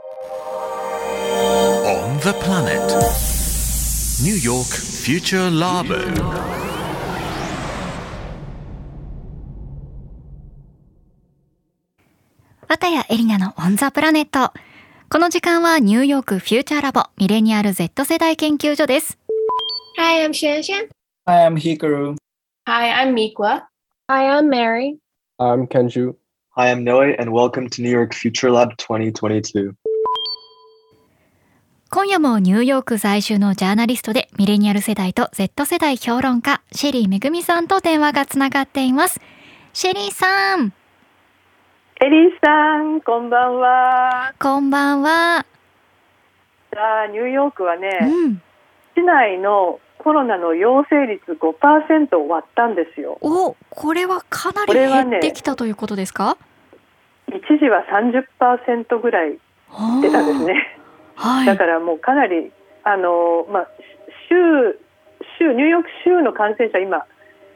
On the planet New York Future Labo。 綿谷エリナのオンザプラネット。この時間はニューヨークフューチャーラボミレニアル Z 世代研究所です。 Hi, I'm Shanshan. Hi, I'm Hikaru. Hi, I'm Miqua. Hi, I'm Mary. I'm Kenju. Hi, I'm Noe, and welcome to New York Future Lab 2022. 今夜もニューヨーク在住のジャーナリストでミレニアル世代と Z 世代評論家シェリーめぐみさんと電話がつながっています。シェリーさん。 エリーさん、こんばんは。 こんばんは。 さあ、ニューヨークはね、市内のコロナの陽性率 5% を割ったんですよ。 お、これはかなり減ってきたということですか？ 一時は 30% ぐらい出たんですね。 はい、 だからもうかなりニューヨーク州の感染者今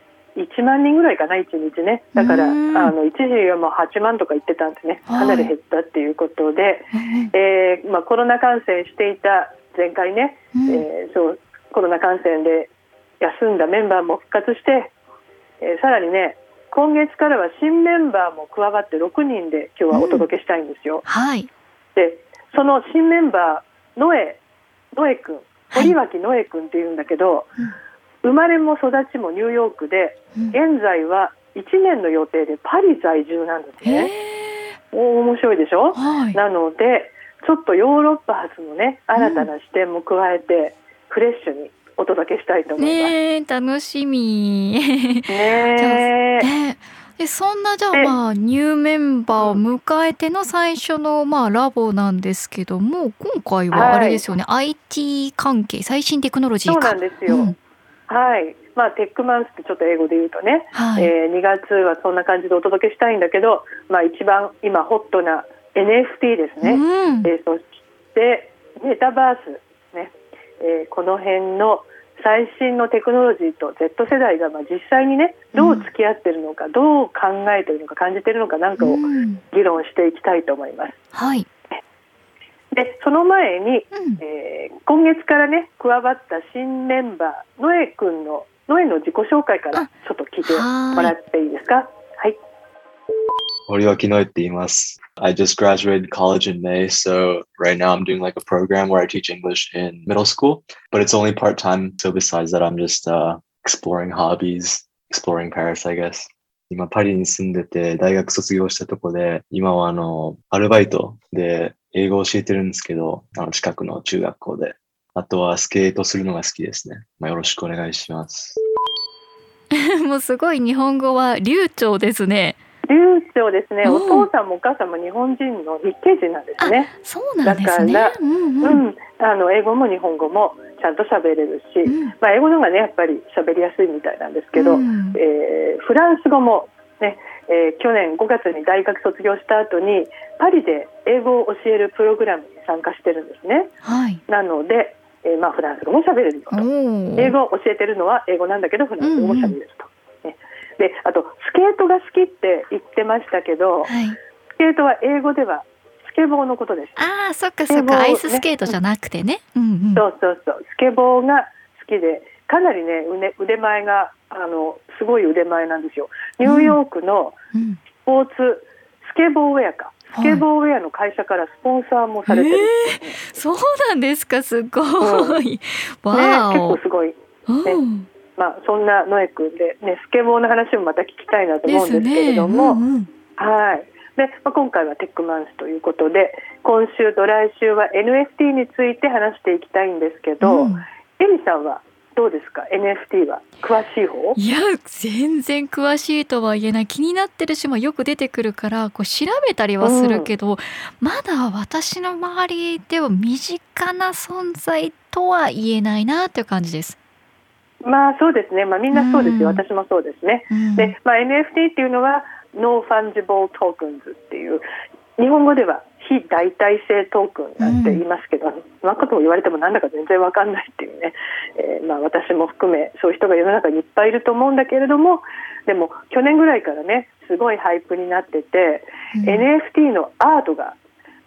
1万人ぐらいかな、1日ね。だから一時はもう8万とか言ってたんでね、かなり減ったっていうことで、コロナ感染していた前回ね、コロナ感染で休んだメンバーも復活して、さらにね、今月からは新メンバーも加わって6人で今日はお届けしたいんですよ。 はい、 でその新メンバーノエ君、堀脇ノエ君っていうんだけど、生まれも育ちもニューヨークで、現在は1年の予定でパリ在住なんですね。面白いでしょ、なのでちょっとヨーロッパ発のね、新たな視点も加えて、フレッシュにお届けしたいと思います。 楽しみね。でそんなじゃあニューメンバーを迎えての最初のラボなんですけども、今回はあれですよね、IT 関係、最新テクノロジーか。 そうなんですよ、はい。テックマンスってちょっと英語で言うとね、2月はそんな感じでお届けしたいんだけど、一番今ホットな NFT ですね、そしてメタバース、ね、この辺の最新のテクノロジーと Z 世代が実際にね、どう付き合っているのか、どう考えているのか、感じているのかなんかを議論していきたいと思います。 はい。 でその前に、今月からね加わった新メンバーノエの自己紹介からちょっと聞いてもらっていいですか？はい。 堀脇ノエって言います。I just graduated college in May, so right now I'm doing like a program where I teach English in middle school, but it's only part-time, so besides that I'm just exploring hobbies, exploring Paris, I guess. 今パリに住んでて大学卒業したとこで、今はアルバイトで英語を教えてるんですけど、近くの中学校で。あとはスケートするのが好きですね。よろしくお願いします。 もうすごい日本語は流暢ですね。 流暢ですね。お父さんもお母さんも日本人の日系人なんですね。 そうなんですね。 だから英語も日本語もちゃんと喋れるし、英語の方がねやっぱり喋りやすいみたいなんですけど、フランス語もね、去年5月に大学卒業した後にパリで英語を教えるプログラムに参加してるんですね。なので、フランス語も喋れるよと。英語を教えてるのは英語なんだけどフランス語も喋れると。であとスケートが好きって言ってましたけど、スケートは英語ではスケボーのことです。 そっかそっか、アイススケートじゃなくてね。 そうスケボーが好きで、かなりね腕前がすごい腕前なんですよ。ニューヨークのスポーツスケボーウェアスケボーウェアの会社からスポンサーもされてる、 そうなんですか、すごい、 結構すごい、そんなノエ君で、スケボーの話もまた聞きたいなと思うんですけれども、で今回はテックマンスということで、今週と来週は NFT について話していきたいんですけど、エミさんはどうですか？ NFT は詳しい方？ いや全然詳しいとは言えない。気になってるし、よく出てくるから調べたりはするけど、まだ私の周りでは身近な存在とは言えないなという感じです。 そうですね、みんなそうですよ、私もそうですね。で、NFT っていうのは No Fungible Tokens っていう、日本語では非代替性トークンなんて言いますけど、そのことを言われてもなんだか全然わかんないっていうね、私も含めそういう人が世の中にいっぱいいると思うんだけれども、でも去年ぐらいからねすごいハイプになってて、NFT のアートが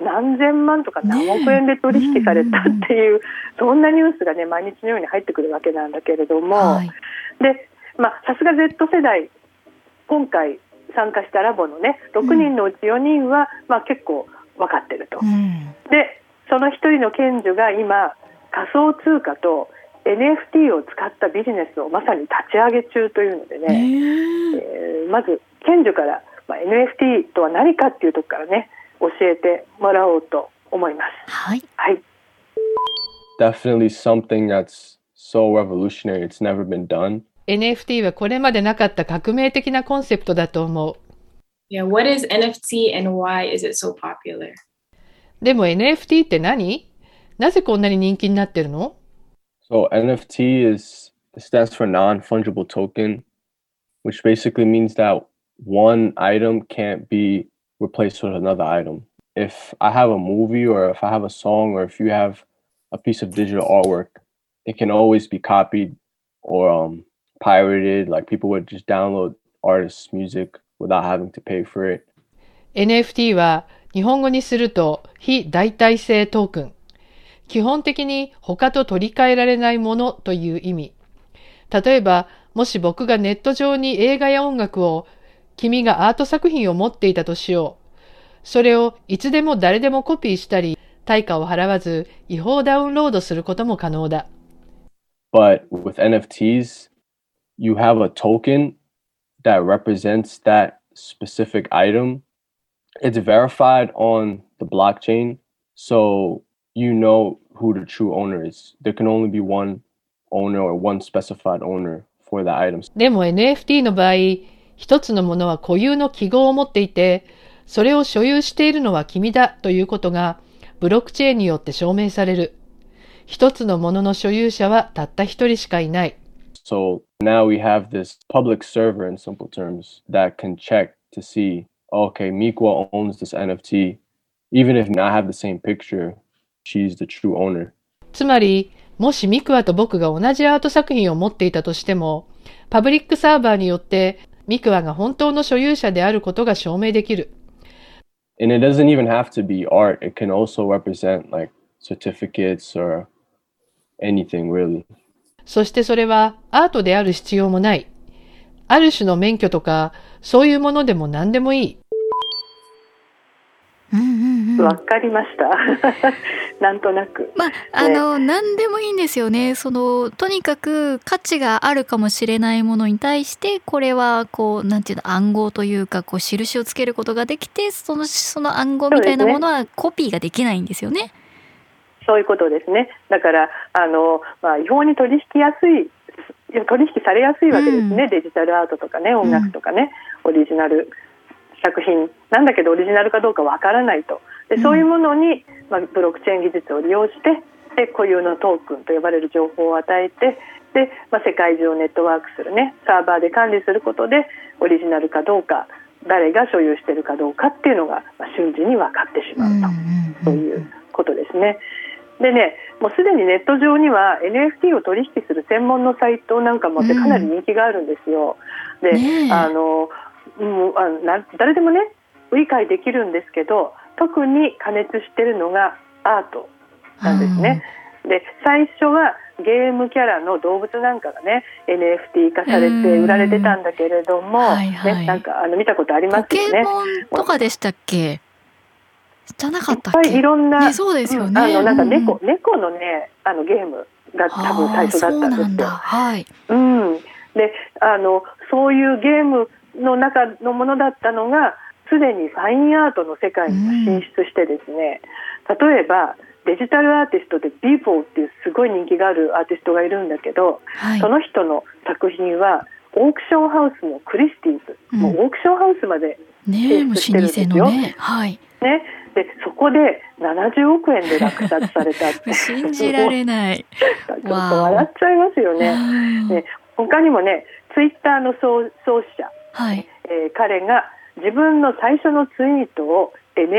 何千万とか何億円で取引されたっていう、そんなニュースがね毎日のように入ってくるわけなんだけれども、 はい、 で、さすが Z 世代、今回参加したラボのね6人のうち4人は、結構分かってると、でその1人の賢者が今仮想通貨と NFT を使ったビジネスをまさに立ち上げ中というのでね、まず賢者から、NFT とは何かっていうところからね教えてもらおうと思います。 はい、 はい、 Definitely something that's so revolutionary. It's never been done. NFT はこれまでなかった革命的なコンセプトだと思う。 Yeah, what is NFT and why is it so popular? でも NFT って何？なぜこんなに人気になってるの？ So NFT stands for non-fungible token, which basically means that one item can't be replaced with another item. If I have a movie or if I have a song or if you have a piece of digital artwork, it can always be copied or pirated. Like people would just download artists' music without having to pay for it. NFT は日本語にすると非代替性トークン。基本的に他と取り替えられないものという意味。例えば、もし僕がネット上に映画や音楽を、君がアート作品を持っていたとしよう。それをいつでも誰でもコピーしたり、対価を払わず違法ダウンロードすることも可能だ。 But with NFTs, you have a token that represents that specific item. It's verified on the blockchain, so you know who the true owner is. There can only be one owner or one specified owner for the items. でも NFT の場合、一つのものは固有の記号を持っていて、それを所有しているのは君だということがブロックチェーンによって証明される。一つのものの所有者はたった一人しかいない。 So now we have this public server in simple terms that can check to see, okay, Miqua owns this NFT. Even if I have the same picture, she's the true owner. つまり、もしミクワと僕が同じアート作品を持っていたとしても、パブリックサーバーによってミクワが本当の所有者であることが証明できる。 And it doesn't even have to be art. It can also represent like certificates or anything really. そしてそれはアートである必要もない。ある種の免許とか、そういうものでも何でもいい。 わかりましたなんとなく、 何でもいいんですよね。とにかく価値があるかもしれないものに対してこれはなんていうの、暗号というか印をつけることができて、その暗号みたいなものはコピーができないんですよね。 そういうことですね。だから違法に取引されやすいわけですね、デジタルアートとかね、音楽とかね、オリジナル作品なんだけどオリジナルかどうかわからないと。でそういうものに、ブロックチェーン技術を利用してで固有のトークンと呼ばれる情報を与えてで、世界中をネットワークするねサーバーで管理することでオリジナルかどうか誰が所有しているかどうかっていうのが、瞬時に分かってしまうと、そういうことですね。でね、もうすでにネット上には NFT を取引する専門のサイトなんかもってかなり人気があるんですよ。で、誰でもね理解できるんですけど、特に過熱しているのがアートなんですね。で最初はゲームキャラの動物なんかがね NFT 化されて売られてたんだけれども、なんか見たことありますよね。 ポケモンとかでしたっけ？じゃなかったっけ？ いっぱいいろんな、 そうですよね。 なんか猫のねゲームが多分最初だったんですよ。 はい。 でそういうゲームの中のものだったのがすでにファインアートの世界に進出してですね、例えばデジタルアーティストでビーフォーっていうすごい人気があるアーティストがいるんだけど、その人の作品はオークションハウスのクリスティーズ、もうオークションハウスまで進出してるんですよ。でそこで70億円で落札されたって信じられないちょっと笑っちゃいますよね。他にもねツイッターの創始者、彼が自分の最初のツイートを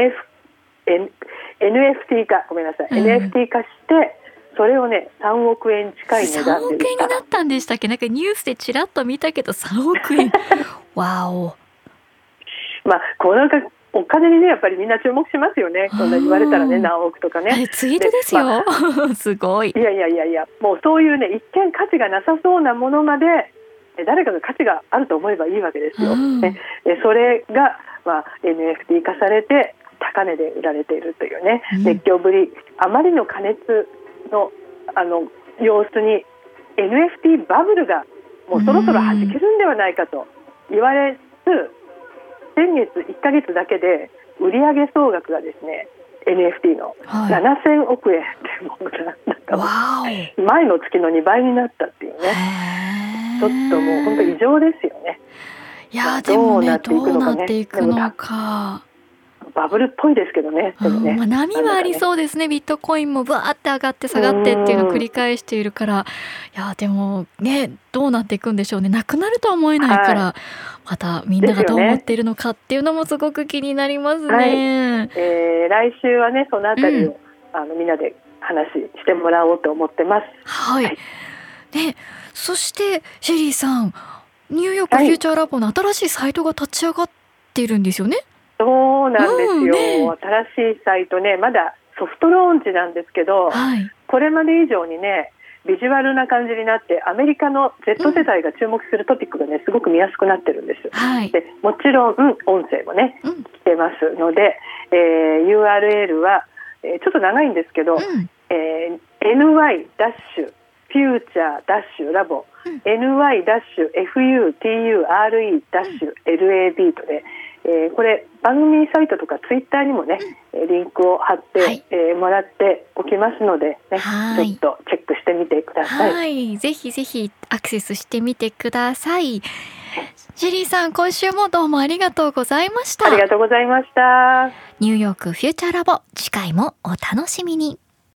NFT 化、NFT 化してそれをね3億円近い値段で売った。3億円になったんでしたっけ？なんかニュースでちらっと見たけど3億円わお。 このお金にねやっぱりみんな注目しますよね。そんな言われたらね、何億とかね。 ツイートですよ。すごい。 いやもうそういうね一見価値がなさそうなものまで誰かが価値があると思えばいいわけですよ。それが、NFT 化されて高値で売られているというね、熱狂ぶり、あまりの過熱の様子に NFT バブルがもうそろそろ弾けるんではないかと言われつ、先月1ヶ月だけで売上総額がですね NFT の7000億円ってもうなんか前の月の2倍になったっていうね、ちょっともう本当異常ですよね。 いやでもね、どうなっていくのか。 バブルっぽいですけどね。でもね、 波はありそうですね。ビットコインもバーって上がって下がってっていうのを繰り返しているから、いやでもね、どうなっていくんでしょうね。なくなるとは思えないから、またみんながどう思っているのかっていうのもすごく気になりますね。 来週はねそのあたりを、みんなで話してもらおうと思ってます。 はい。で、そしてシェリーさん、ニューヨークフューチャーラボの新しいサイトが立ち上がっているんですよね。 そうなんですよ、新しいサイトね、まだソフトローンチなんですけど、これまで以上にねビジュアルな感じになってアメリカの Z 世代が注目するトピックがねすごく見やすくなってるんです。でもちろん、音声もね聞けますので、URL は、ちょっと長いんですけど、ny-future-labo ny-future-lab とね、これ番組サイトとかツイッターにもねリンクを貼って、もらっておきますので、ね、ちょっとチェックしてみてください。 ぜひぜひアクセスしてみてください。シェリーさん、今週もどうもありがとうございました。 ありがとうございました。 ニューヨークフューチャーラボ、次回もお楽しみに。